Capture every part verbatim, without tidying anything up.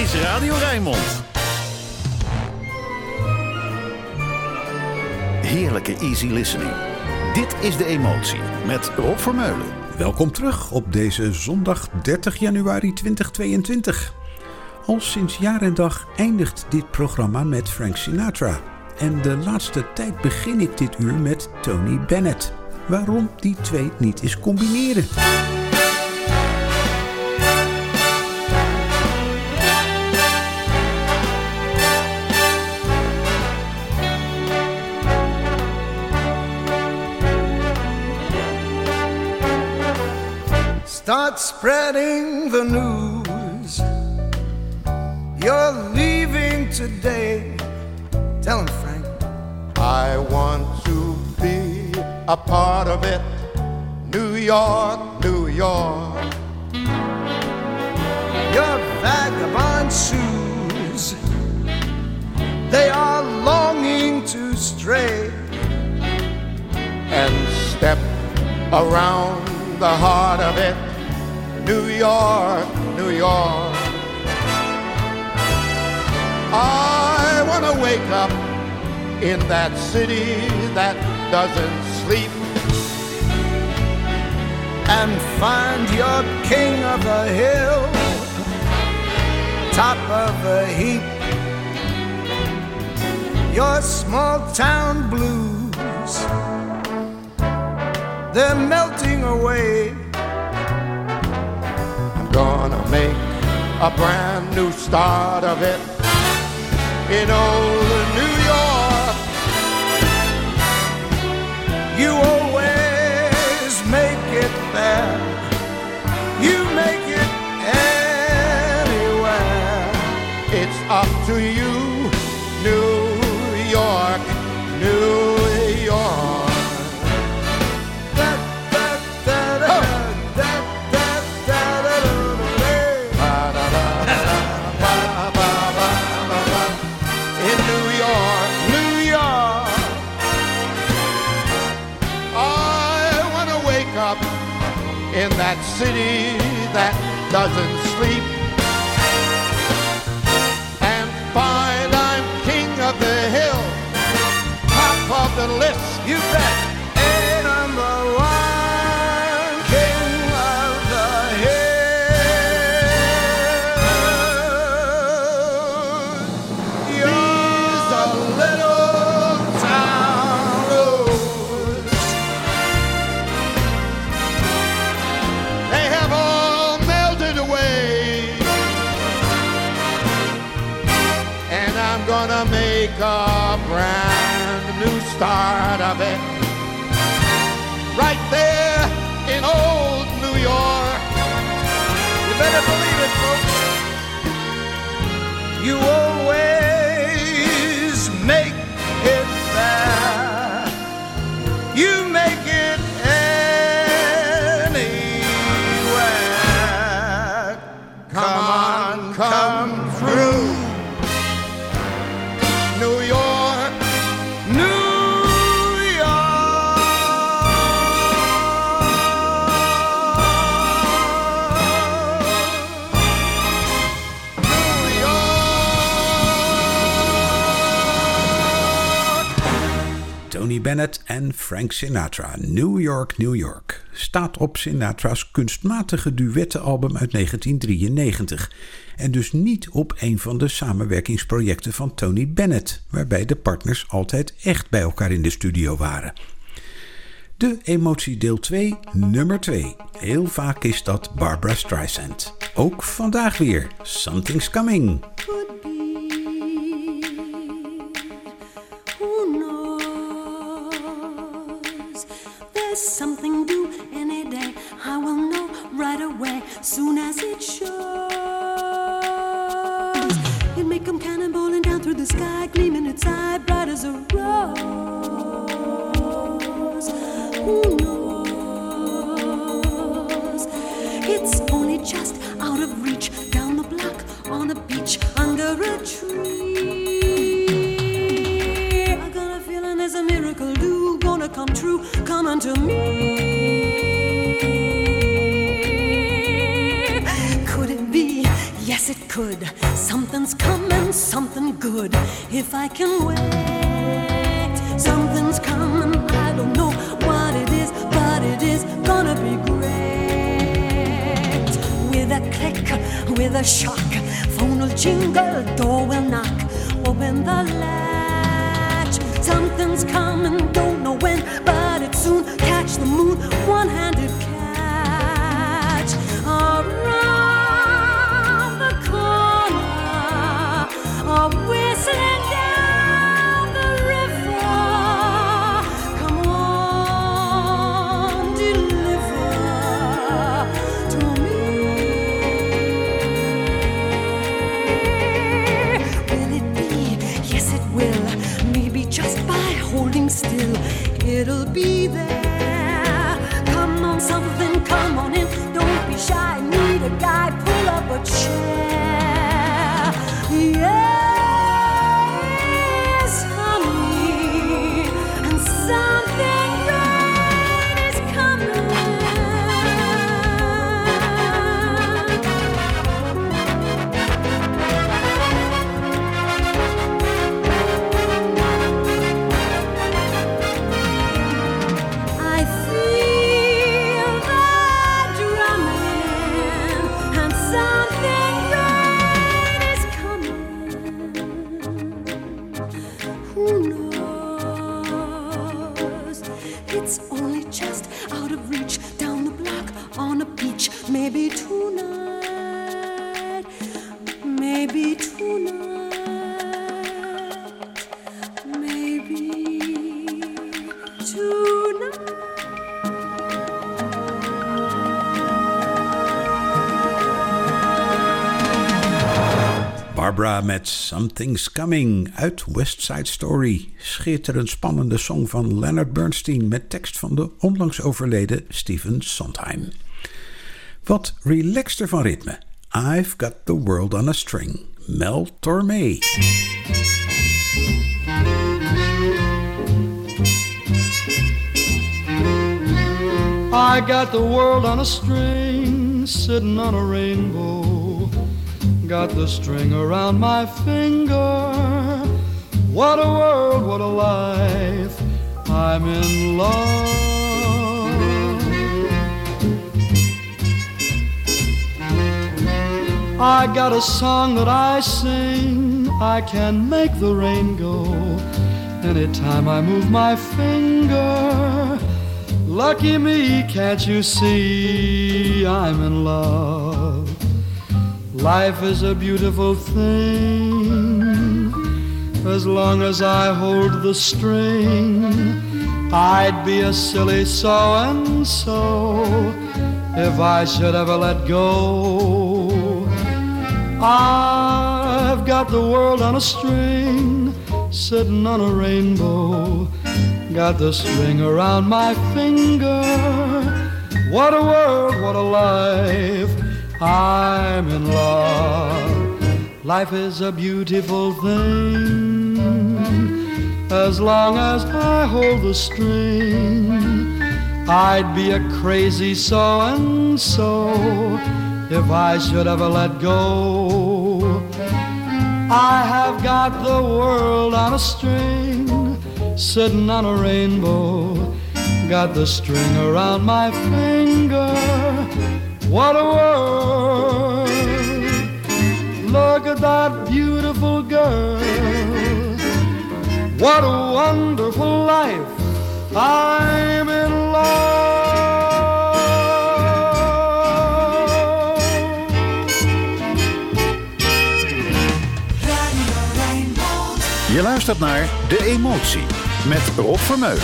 is Radio Rijnmond. Heerlijke easy listening. Dit is De Emotie met Rob Vermeulen. Welkom terug op deze zondag dertig januari tweeduizend tweeëntwintig. Al sinds jaar en dag eindigt dit programma met Frank Sinatra. En de laatste tijd begin ik dit uur met Tony Bennett. Waarom die twee niet eens combineren? Start spreading the news. You're leaving today. Tell him, Frank. I want to be a part of it. New York, New York. Your vagabond shoes, they are longing to stray And step around the heart of it. New York, New York. I want to wake up in that city that doesn't sleep and find your king of the hill, top of the heap. Your small town blues, they're melting away. I'm gonna make a brand new start of it in old New York. You always make it there. You make it anywhere. It's up to you, New York, New York. In that city that doesn't sleep and find I'm king of the hill, top of the list. You bet. A number one king of the hill. You're a little town road. They have all melted away, and I'm gonna make a brand new start of it right there in old New York. You better believe it, folks. You always make it there. You make it anywhere. Come on, come through. New York, New Tony Bennett en Frank Sinatra. New York, New York. Staat op Sinatra's kunstmatige duettenalbum uit negentien drieënnegentig. En dus niet op een van de samenwerkingsprojecten van Tony Bennett, waarbij de partners altijd echt bij elkaar in de studio waren. De Emotie deel twee, nummer twee. Heel vaak is dat Barbra Streisand. Ook vandaag weer. Something's Coming. Could be. Who knows? There's something due any day. I will know right away, soon as it shows. It may come cannonballing down through the sky, gleaming its eye bright as a rose. Who knows? It's only just out of reach, down the block, on a beach, under a tree. I got a feeling there's a miracle due, gonna come true, come unto me. Could it be? Yes, yes it could. Something's coming, something good. If I can wait, something's coming. I don't know what it is, but it is gonna be great. With a click, with a shock, phone will jingle, door will knock. Open the latch. Something's coming, don't know when, but it soon. Catch the moon, one-handed catch. Around the corner, a whistling down the river. Come on, deliver to me. Will it be? Yes, it will. Maybe just by holding still, it'll be there. Come on, something, come on in. Don't be shy, need a guy, pull up a chair. Yes, honey, and something great is coming. I feel the drumming, and something great is coming. Who knows? It's only just out of reach, down the block on a beach. Maybe tonight, maybe tonight, maybe tonight. Barbara met Something's Coming uit West Side Story. Schitterend spannende song van Leonard Bernstein met tekst van de onlangs overleden Stephen Sondheim. Wat relaxter van ritme. I've Got the World on a String. Mel Tormé. I got the world on a string, sitting on a rainbow. Got the string around my finger. What a world, what a life. I'm in love. I got a song that I sing. I can make the rain go anytime I move my finger. Lucky me, can't you see I'm in love? Life is a beautiful thing. As long as I hold the string, I'd be a silly so-and-so if I should ever let go. I've got the world on a string, sitting on a rainbow. Got the string around my finger. What a world, what a life. I'm in love. Life is a beautiful thing. As long as I hold the string, I'd be a crazy so-and-so if I should ever let go. I have got the world on a string, sitting on a rainbow. Got the string around my finger. What a world. Look at that beautiful girl. What a wonderful life. I'm in love. Je luistert naar De Emotie met Rob Vermeulen.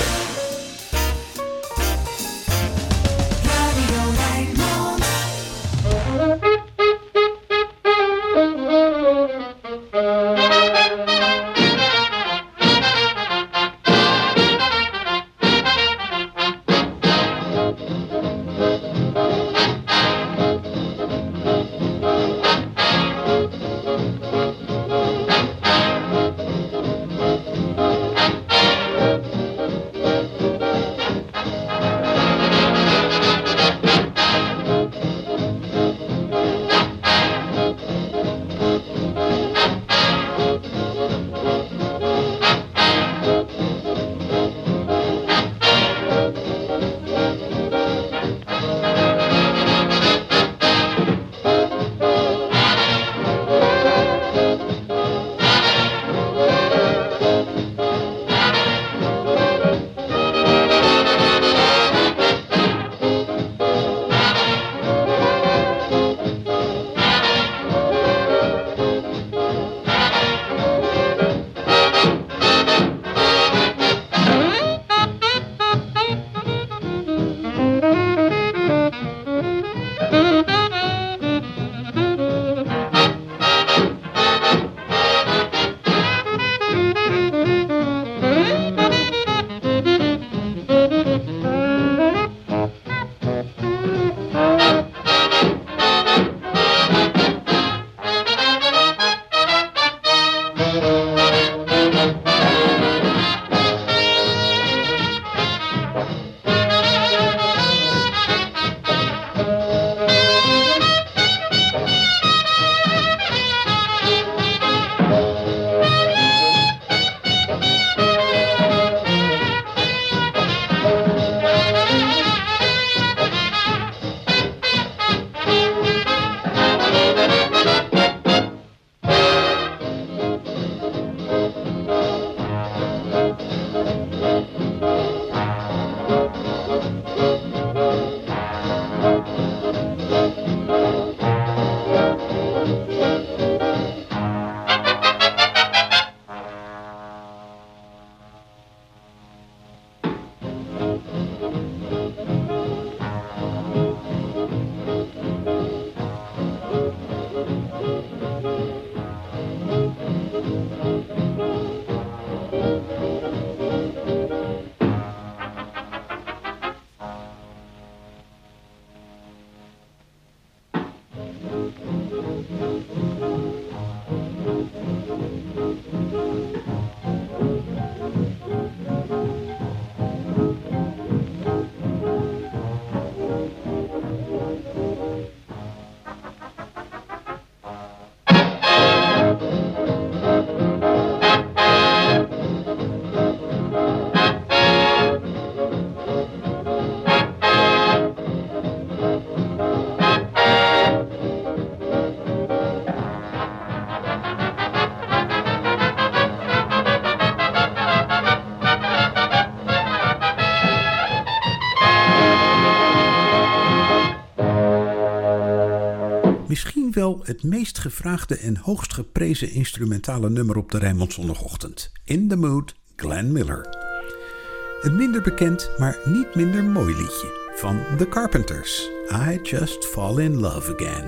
Misschien wel het meest gevraagde en hoogst geprezen instrumentale nummer op de Rijnmond Zondagochtend. In the Mood, Glenn Miller. Een minder bekend, maar niet minder mooi liedje van The Carpenters. I Just Fall in Love Again.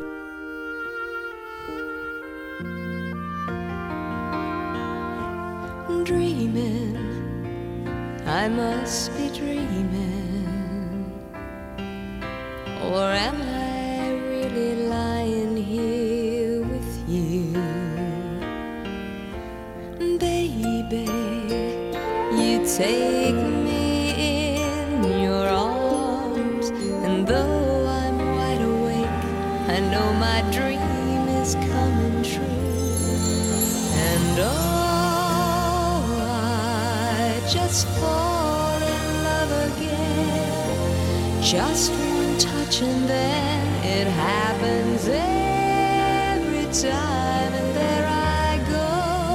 Dreaming, I must be dreaming, or am I really lying here with you? Baby, you take me in your arms, and though I'm wide awake, I know my dream is coming true. And oh, I just fall in love again, just one touch and then it happens every time, and there I go.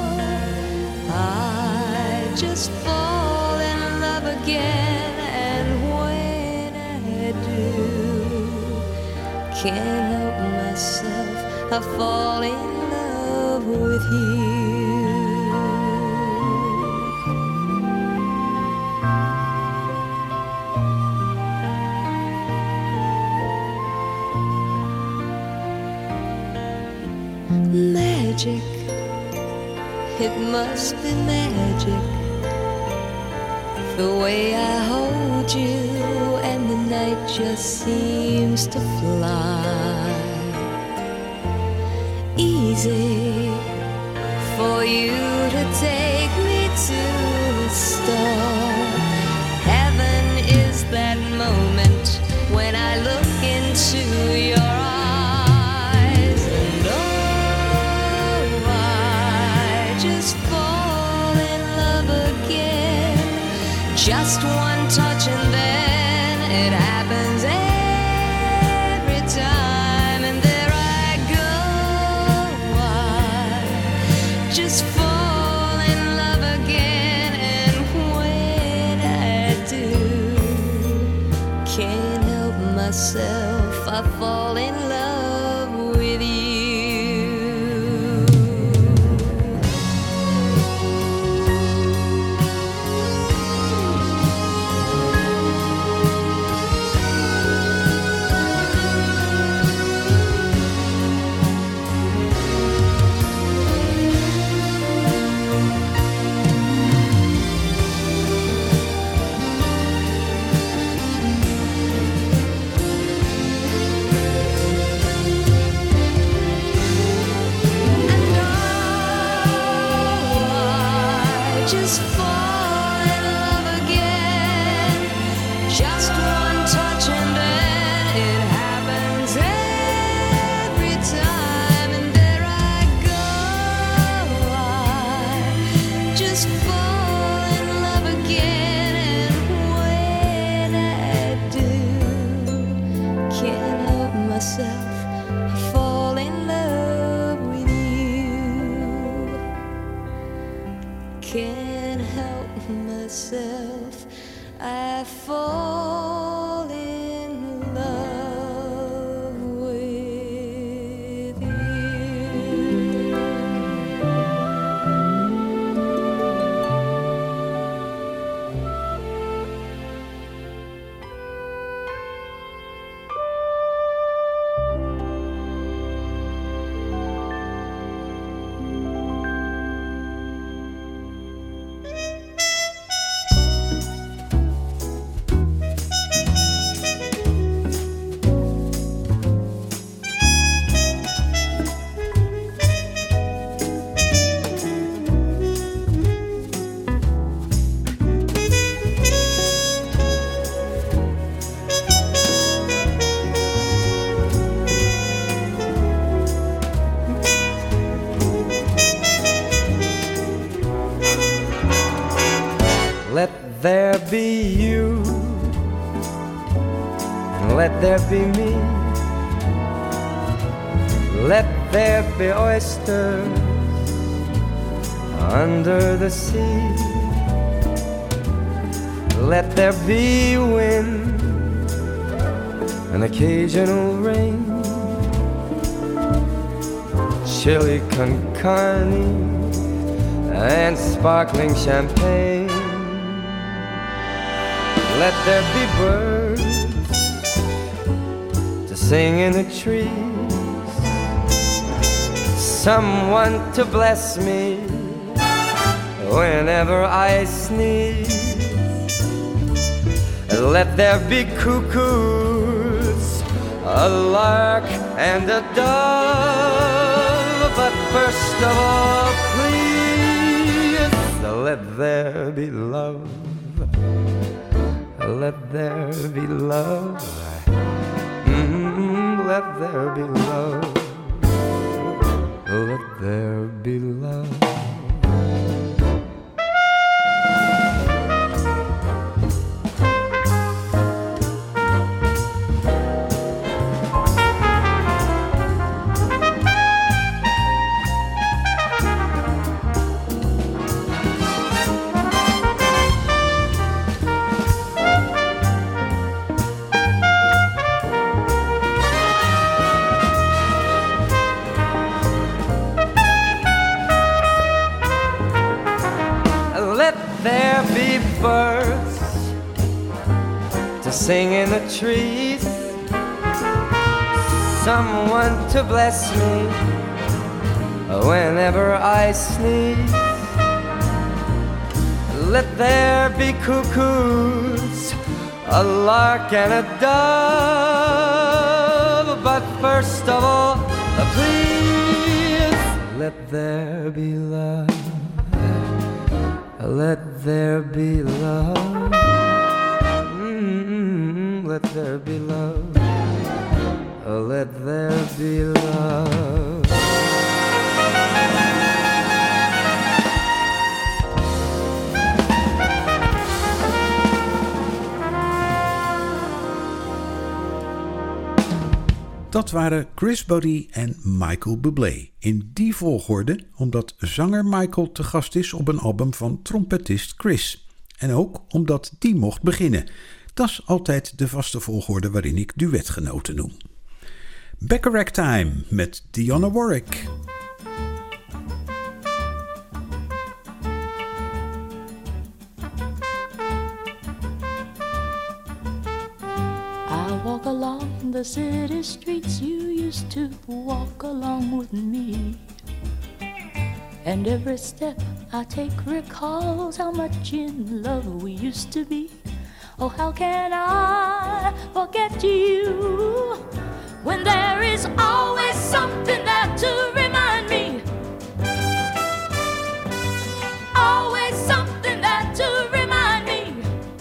I just fall in love again, and when I do, can't help myself, I fall in love with you. Magic, it must be magic, the way I hold you and the night just seems to fly. Easy for you to take me to the start. Heaven is that moment when I look into your eyes. Just one touch and then it happens every time, and there I go. I just fall in love again, and when I do, can't help myself, I fall in love with you. Can't help myself, I fall in love with you. there be me. Let there be oysters under the sea. Let there be wind, an occasional rain, chili con carne and sparkling champagne. Let there be birds to sing in the trees, someone to bless me whenever I sneeze. Let there be cuckoos, a lark and a dove, but first of all, please, let there be love. Let there be love. Mm, let there be love. Let there be love. There be birds to sing in the trees, someone to bless me whenever I sneeze. Let there be cuckoos, a lark and a dove, but first of all, please, let there be love. Let there be love. Mm-hmm. Let there be love. Let there be love. Dat waren Chris Botti en Michael Bublé. In die volgorde, omdat zanger Michael te gast is op een album van trompetist Chris. En ook omdat die mocht beginnen. Dat is altijd de vaste volgorde waarin ik duetgenoten noem. Bacharach Time met Dionne Warwick. I walk along the city streets you used to walk along with me, and every step I take recalls how much in love we used to be. Oh, how can I forget you when there is always something there to remind me, always something there to remind me.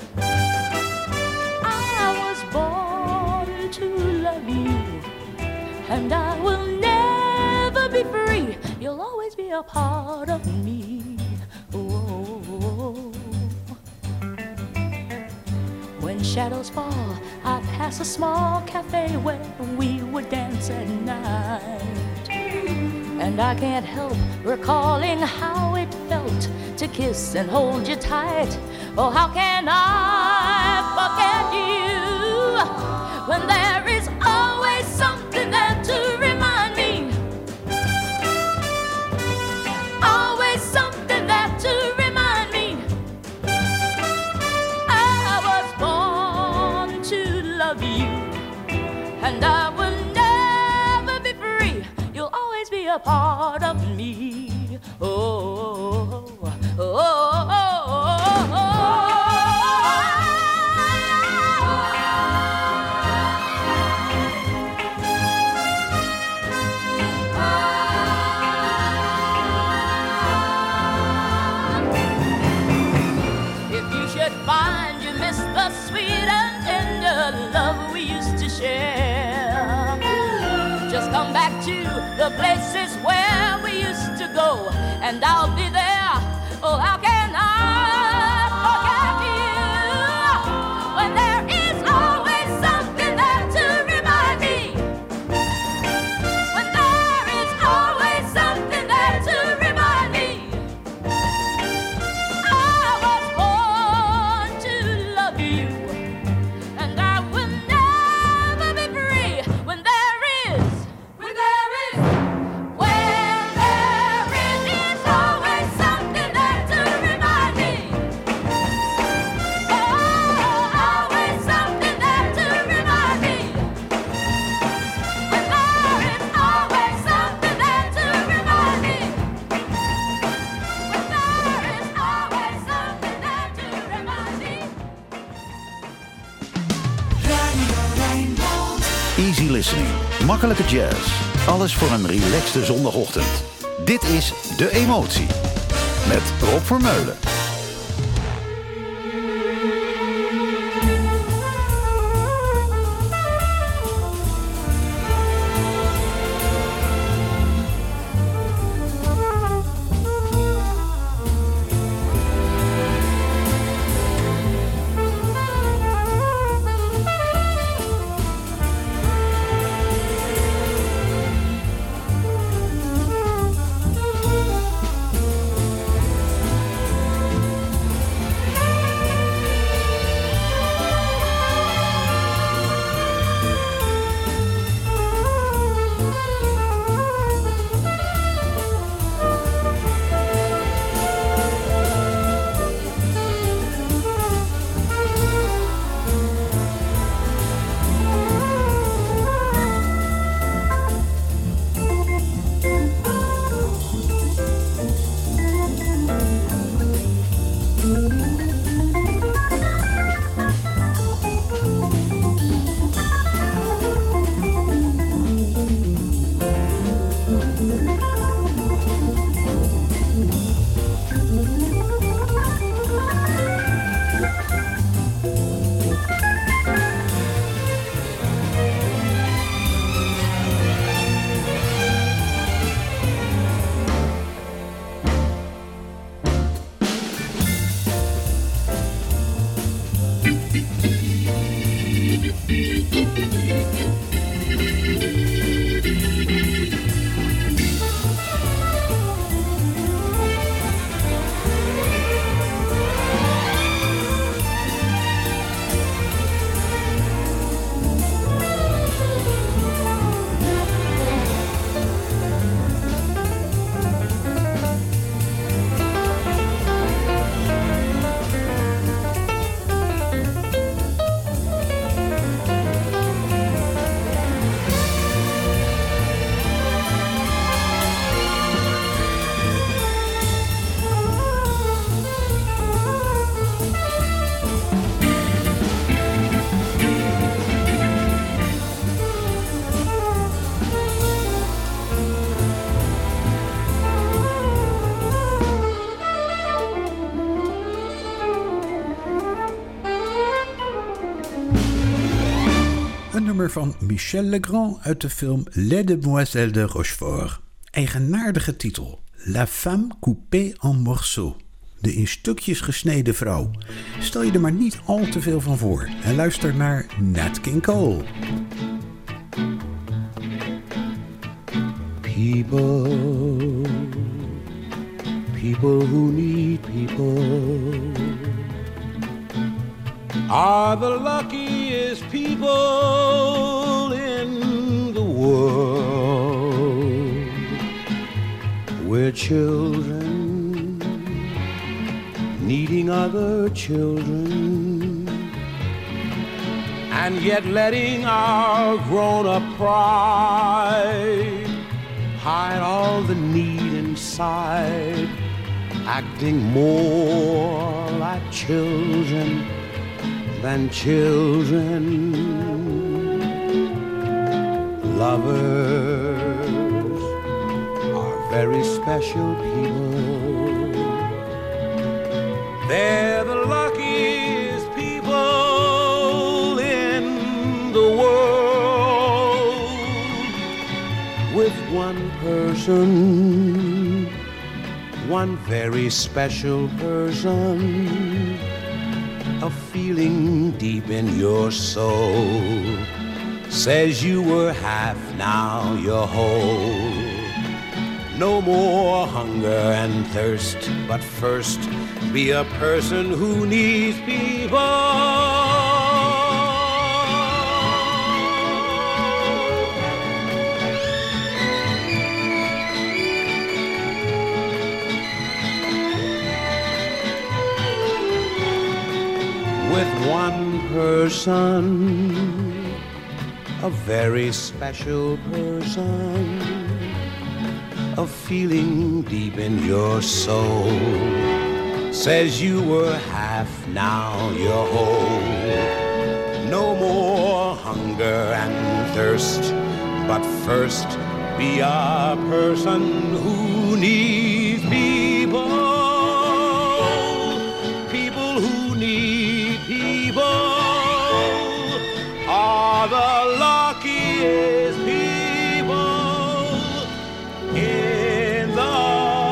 I was born to love you, and I will never be free. You'll always be a part of me. Oh. When shadows fall, I pass a small cafe where we would dance at night, and I can't help recalling how it felt to kiss and hold you tight. Oh, how can I forget you when there is always something there to remind me, always something there to remind me. I was born to love you, and I will never be free. You'll always be a part of me. Oh, oh, oh, oh, oh, oh. If you should find you miss the sweet and tender love we used to share, just come back to the places where we used to go, and I'll be there. Oh, how can I forget you when there is always something there to listening. Makkelijke jazz. Alles voor een relaxte zondagochtend. Dit is De Emotie. Met Rob Vermeulen. Van Michel Legrand uit de film Les Demoiselles de Rochefort. Eigenaardige titel. La femme coupée en morceaux. De in stukjes gesneden vrouw. Stel je er maar niet al te veel van voor en luister naar Nat King Cole. People, people who need people are the luckiest people in the world. We're children needing other children, and yet letting our grown-up pride hide all the need inside, acting more like children than children. Lovers are very special people. They're the luckiest people in the world. With one person, one very special person, a feeling deep in your soul says you were half, now you're whole. No more hunger and thirst, but first be a person who needs people. With one person, a very special person, a feeling deep in your soul says you were half, now you're whole. no more hunger and thirst, but first be a person who needs people, people who need people are the luckiest people in the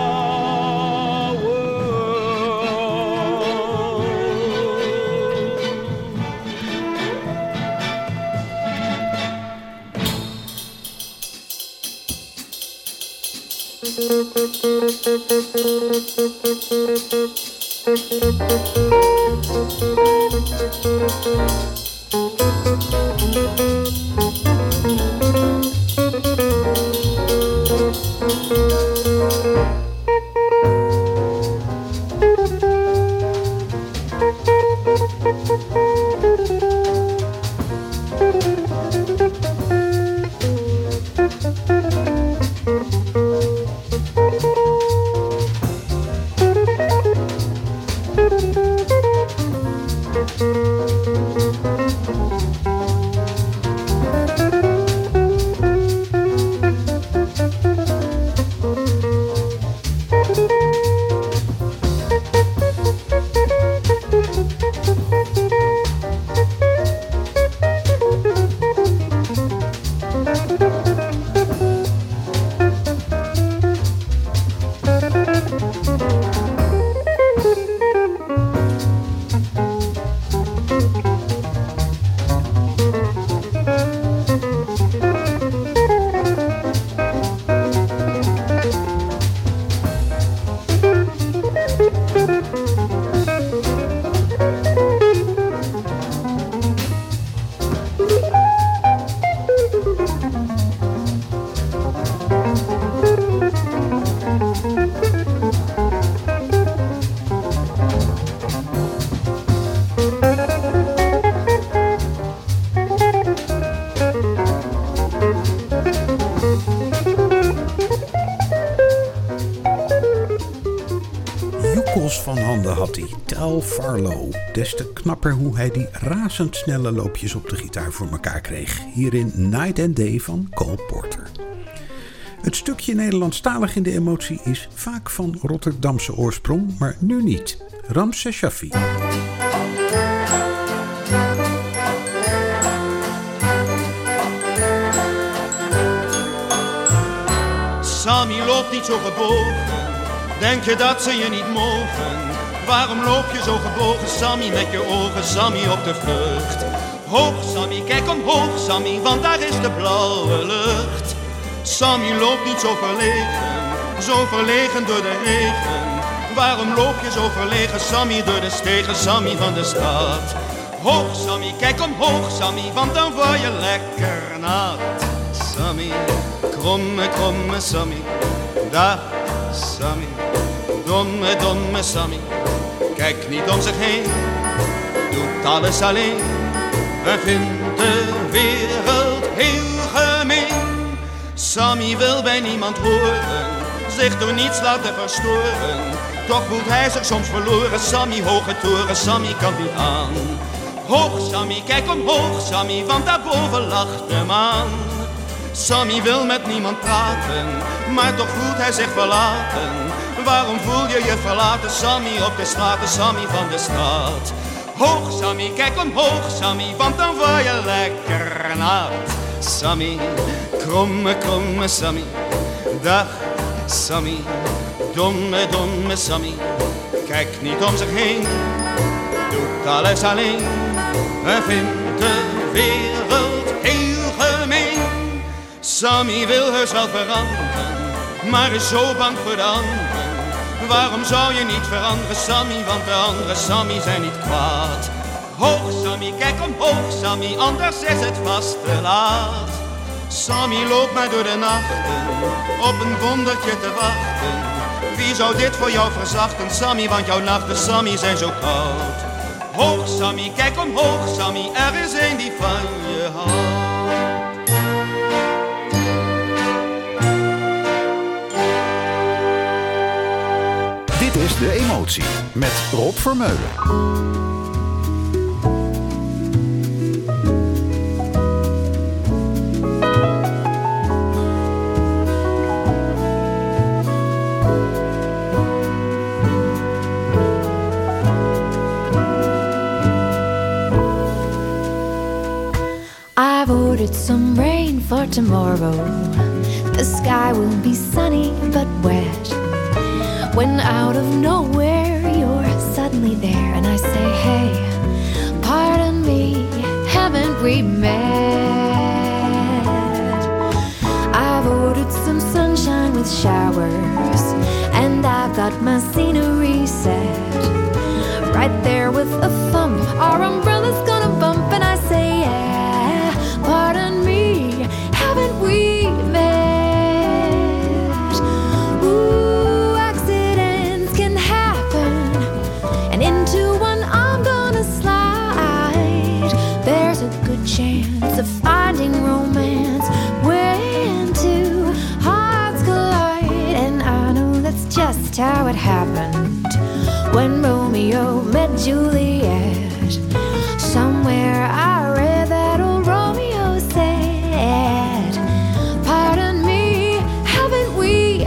van handen had hij, Tel Farlow. Des te knapper hoe hij die razendsnelle loopjes op de gitaar voor elkaar kreeg. Hierin Night and Day van Cole Porter. Het stukje Nederlandstalig in de emotie is vaak van Rotterdamse oorsprong, maar nu niet. Ramses Shaffi. Sammy loopt niet zo gebogen, denk je dat ze je niet mogen? Waarom loop je zo gebogen, Sammy, met je ogen, Sammy, op de vlucht? Hoog, Sammy, kijk omhoog, Sammy, want daar is de blauwe lucht. Sammy loopt niet zo verlegen, zo verlegen door de regen. Waarom loop je zo verlegen, Sammy, door de stegen, Sammy, van de stad? Hoog, Sammy, kijk omhoog, Sammy, want dan word je lekker nat. Sammy, kromme, kromme Sammy, dag Sammy, domme, domme Sammy. Kijk niet om zich heen, doet alles alleen en vindt de wereld heel gemeen. Sammy wil bij niemand horen, zich door niets laten verstoren. Toch voelt hij zich soms verloren, Sammy, hoge toren, Sammy kan niet aan. Hoog Sammy, kijk omhoog Sammy, want daarboven lacht de maan. Sammy wil met niemand praten, maar toch voelt hij zich verlaten. Waarom voel je je verlaten, Sammy, op de straten, Sammy van de stad? Hoog Sammy, kijk omhoog Sammy, want dan word je lekker nat. Sammy, kromme, kromme Sammy, dag Sammy, domme, domme Sammy. Kijkt niet om zich heen, doet alles alleen en vindt de wereld heel gemeen. Sammy wil heus wel veranderen, maar is zo bang voor de anderen. Waarom zou je niet veranderen, Sammy, want de andere Sammy zijn niet kwaad. Hoog Sammy, kijk omhoog Sammy, anders is het vast te laat. Sammy loopt maar door de nachten, op een wondertje te wachten. Wie zou dit voor jou verzachten, Sammy, want jouw nachten, Sammy, zijn zo koud. Hoog Sammy, kijk omhoog Sammy, er is een die van je houdt. Dit is De Emotie met Rob Vermeulen. some rain for tomorrow. The sky will be sunny but wet. When out of nowhere you're suddenly there, and I say, hey, pardon me, haven't we met? I've ordered some sunshine with showers, and I've got my scenery set. Right there with a thump, our umbrella's gonna bump, and I say, yeah, pardon me, haven't we met? Ooh, accidents can happen, and into one I'm gonna slide. There's a good chance of finding romance when two hearts collide, and I know that's just how it happened. When Romeo met Juliet, somewhere I read that old Romeo said, pardon me, haven't we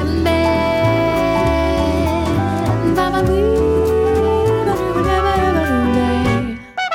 met? Ba-ba-wee, ba-ba-ba-ba-ba-ba-ba.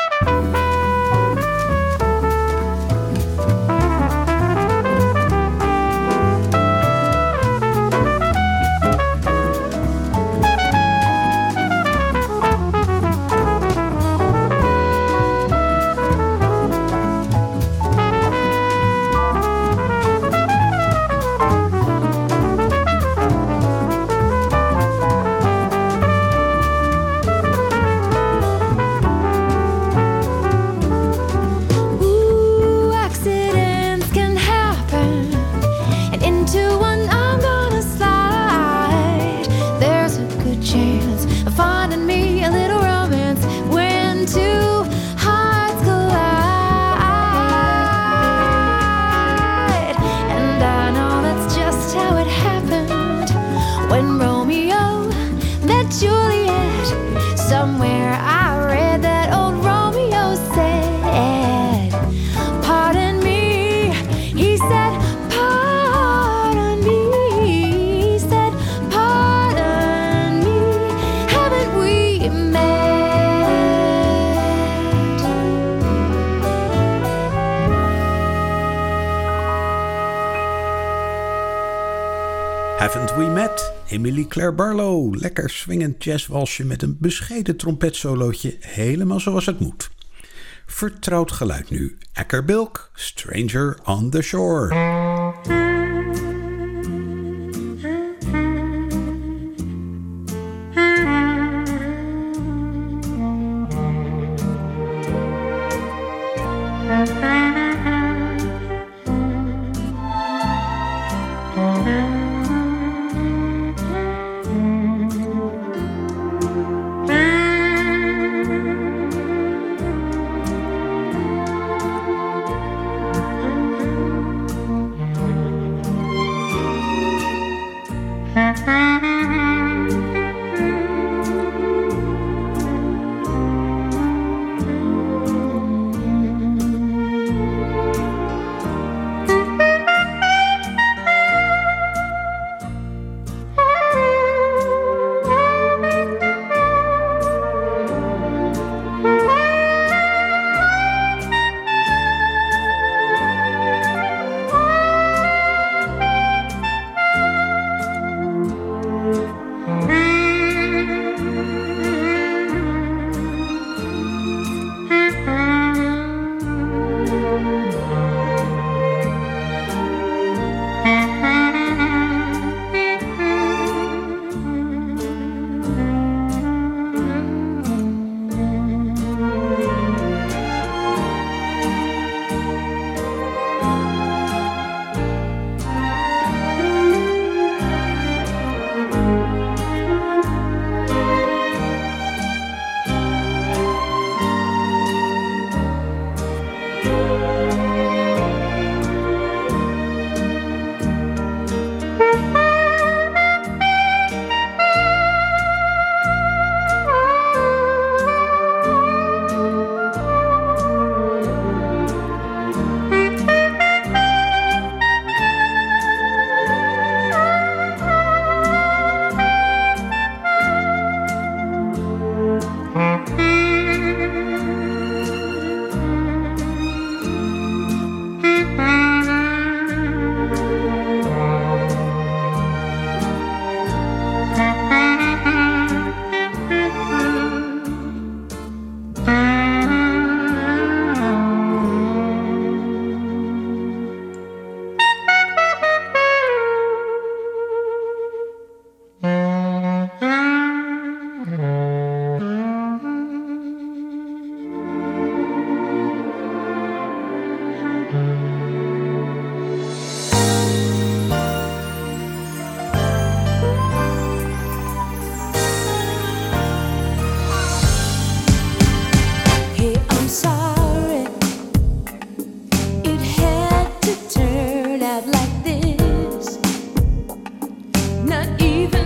Haven't We Met? Emily Claire Barlow. Lekker swingend jazzwalsje met een bescheiden trompetsolootje, helemaal zoals het moet. Vertrouwd geluid nu. Acker Bilk, Stranger on the Shore.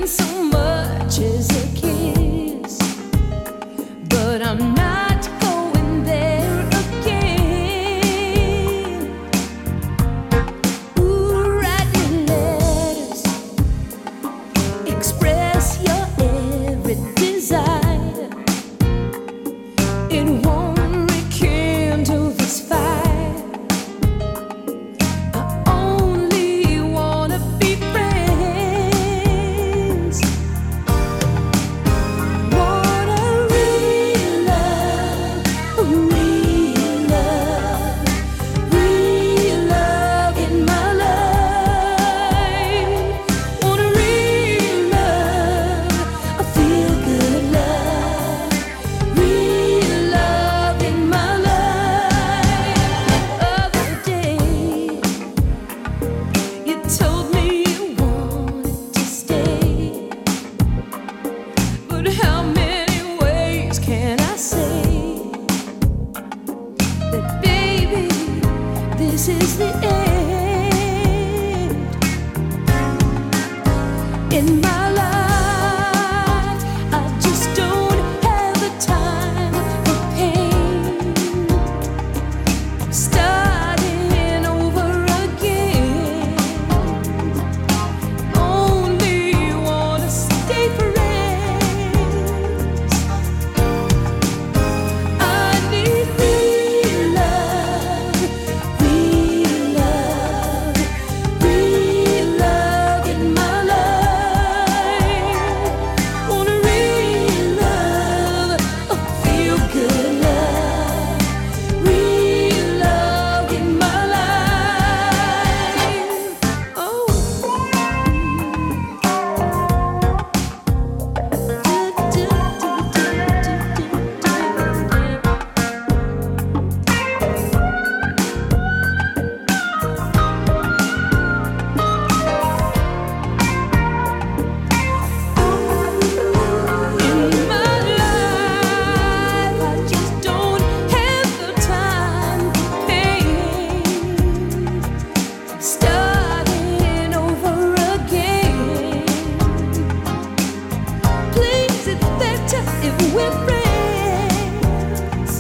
so much as a kiss, but I'm not going there again. Ooh, write your letters, express your every desire. It won't rekindle this fire. I only wanna be friends. Want a real love, a real love, real love in my life. Want a real love, a feel good love, real love in my life. Other day, you told me you wanted to stay, but how many ways can I say that, baby, this is the end in my life? I just don't have the time for pain. Starting over again. Only wanna stay friends. I need real love, real love, real love in my life. Want a real love, a feel good love, real love in my life. Oh. In my life, I just don't have the time for pain. Starting over again. Please, it's better if we're friends.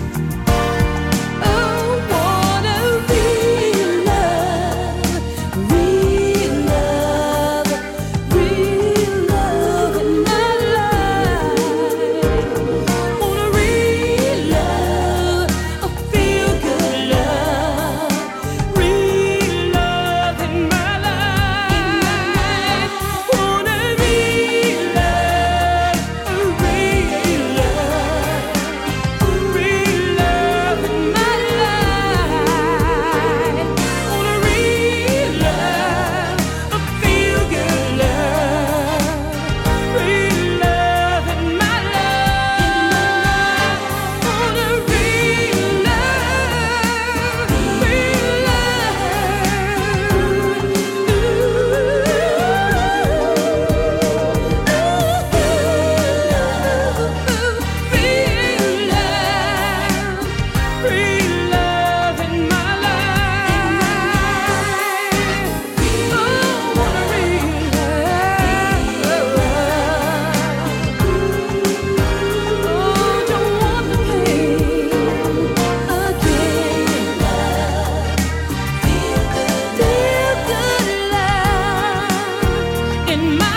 Oh, want a real love, real love, real love in my life. Want a real love, a feel good love, real love in my life. Want a real love, a real love, a real love in my life. Want a real love, a feel good love, real love in my life. Want a real love, real love, real love in my life. Oh, want a real love. Oh, don't want the pain again. Feel good love in my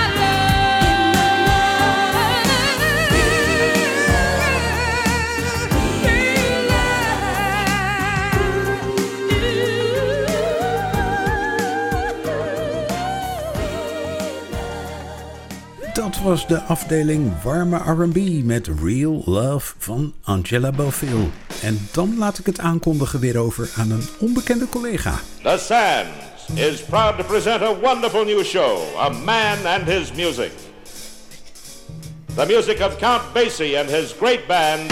Dat was de afdeling warme R en B met Real Love van Angela Bofill. En dan laat ik het aankondigen weer over aan een onbekende collega. The Sands is proud to present a wonderful new show, A Man and His Music. The music of Count Basie and his great band.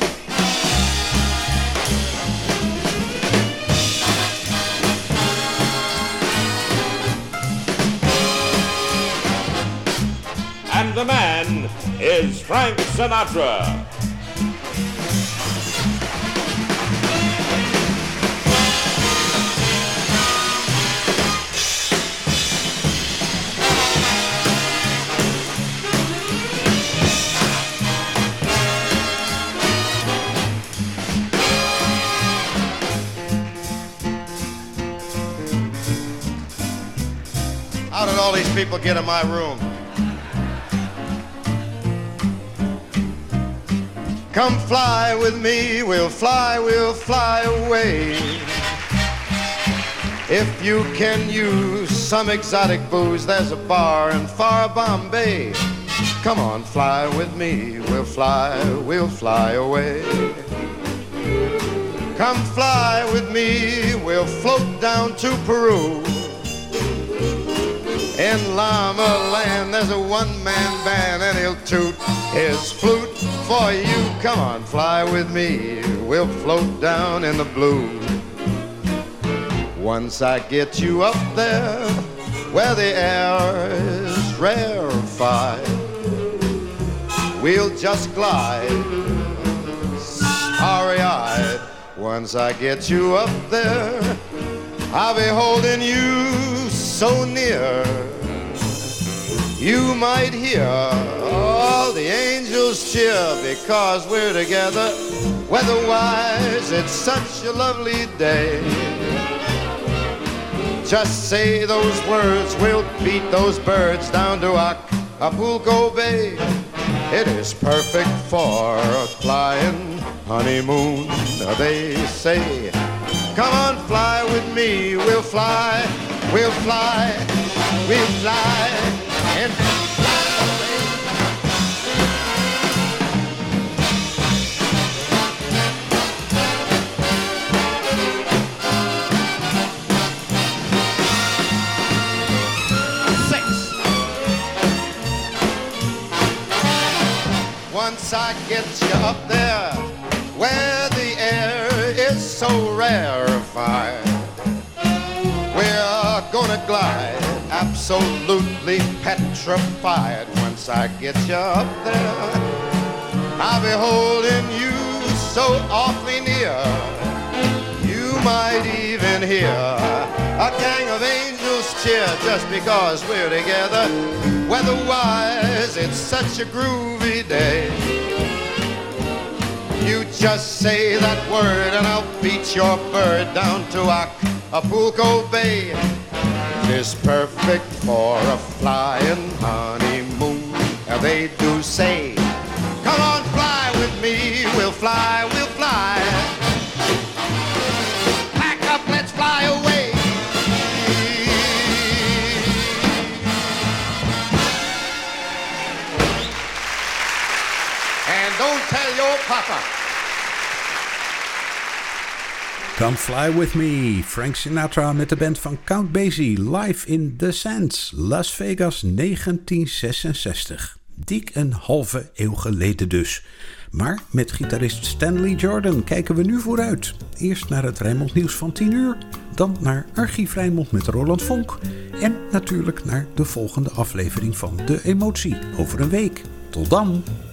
And the man is Frank Sinatra. people get in my room. Come fly with me, we'll fly, we'll fly away. If you can use some exotic booze, there's a bar in far Bombay. Come on, fly with me, we'll fly, we'll fly away. Come fly with me, we'll float down to Peru. In Llama Land, there's a one-man band, and he'll toot his flute for you. Come on, fly with me, we'll float down in the blue. Once I get you up there, where the air is rarefied, we'll just glide, starry-eyed. Once I get you up there, I'll be holding you so near. You might hear all the angels cheer because we're together. Weather-wise, it's such a lovely day. Just say those words, we'll beat those birds down to Acapulco Bay. It is perfect for a flying honeymoon, they say. Come on, fly with me, we'll fly, we'll fly, we'll fly, and fly away. Six. Once I get you up there, where the air is so rarefied, we're gonna glide, absolutely petrified. Once I get you up there, I'll be holding you so awfully near. You might even hear a gang of angels cheer just because we're together. Weather-wise, it's such a groovy day. You just say that word and I'll beat your bird down to Acapulco Bay. It is perfect for a flying honeymoon, they do say. Come on, fly with me, we'll fly, we'll fly. Pack up, let's fly away. And don't tell your papa. Come Fly With Me, Frank Sinatra met de band van Count Basie, live in The Sands, Las Vegas negentien zesenzestig. Dik een halve eeuw geleden dus. Maar met gitarist Stanley Jordan kijken we nu vooruit. Eerst naar het Rijnmond nieuws van tien uur, dan naar Archief Rijnmond met Roland Vonk en natuurlijk naar de volgende aflevering van De Emotie over een week. Tot dan!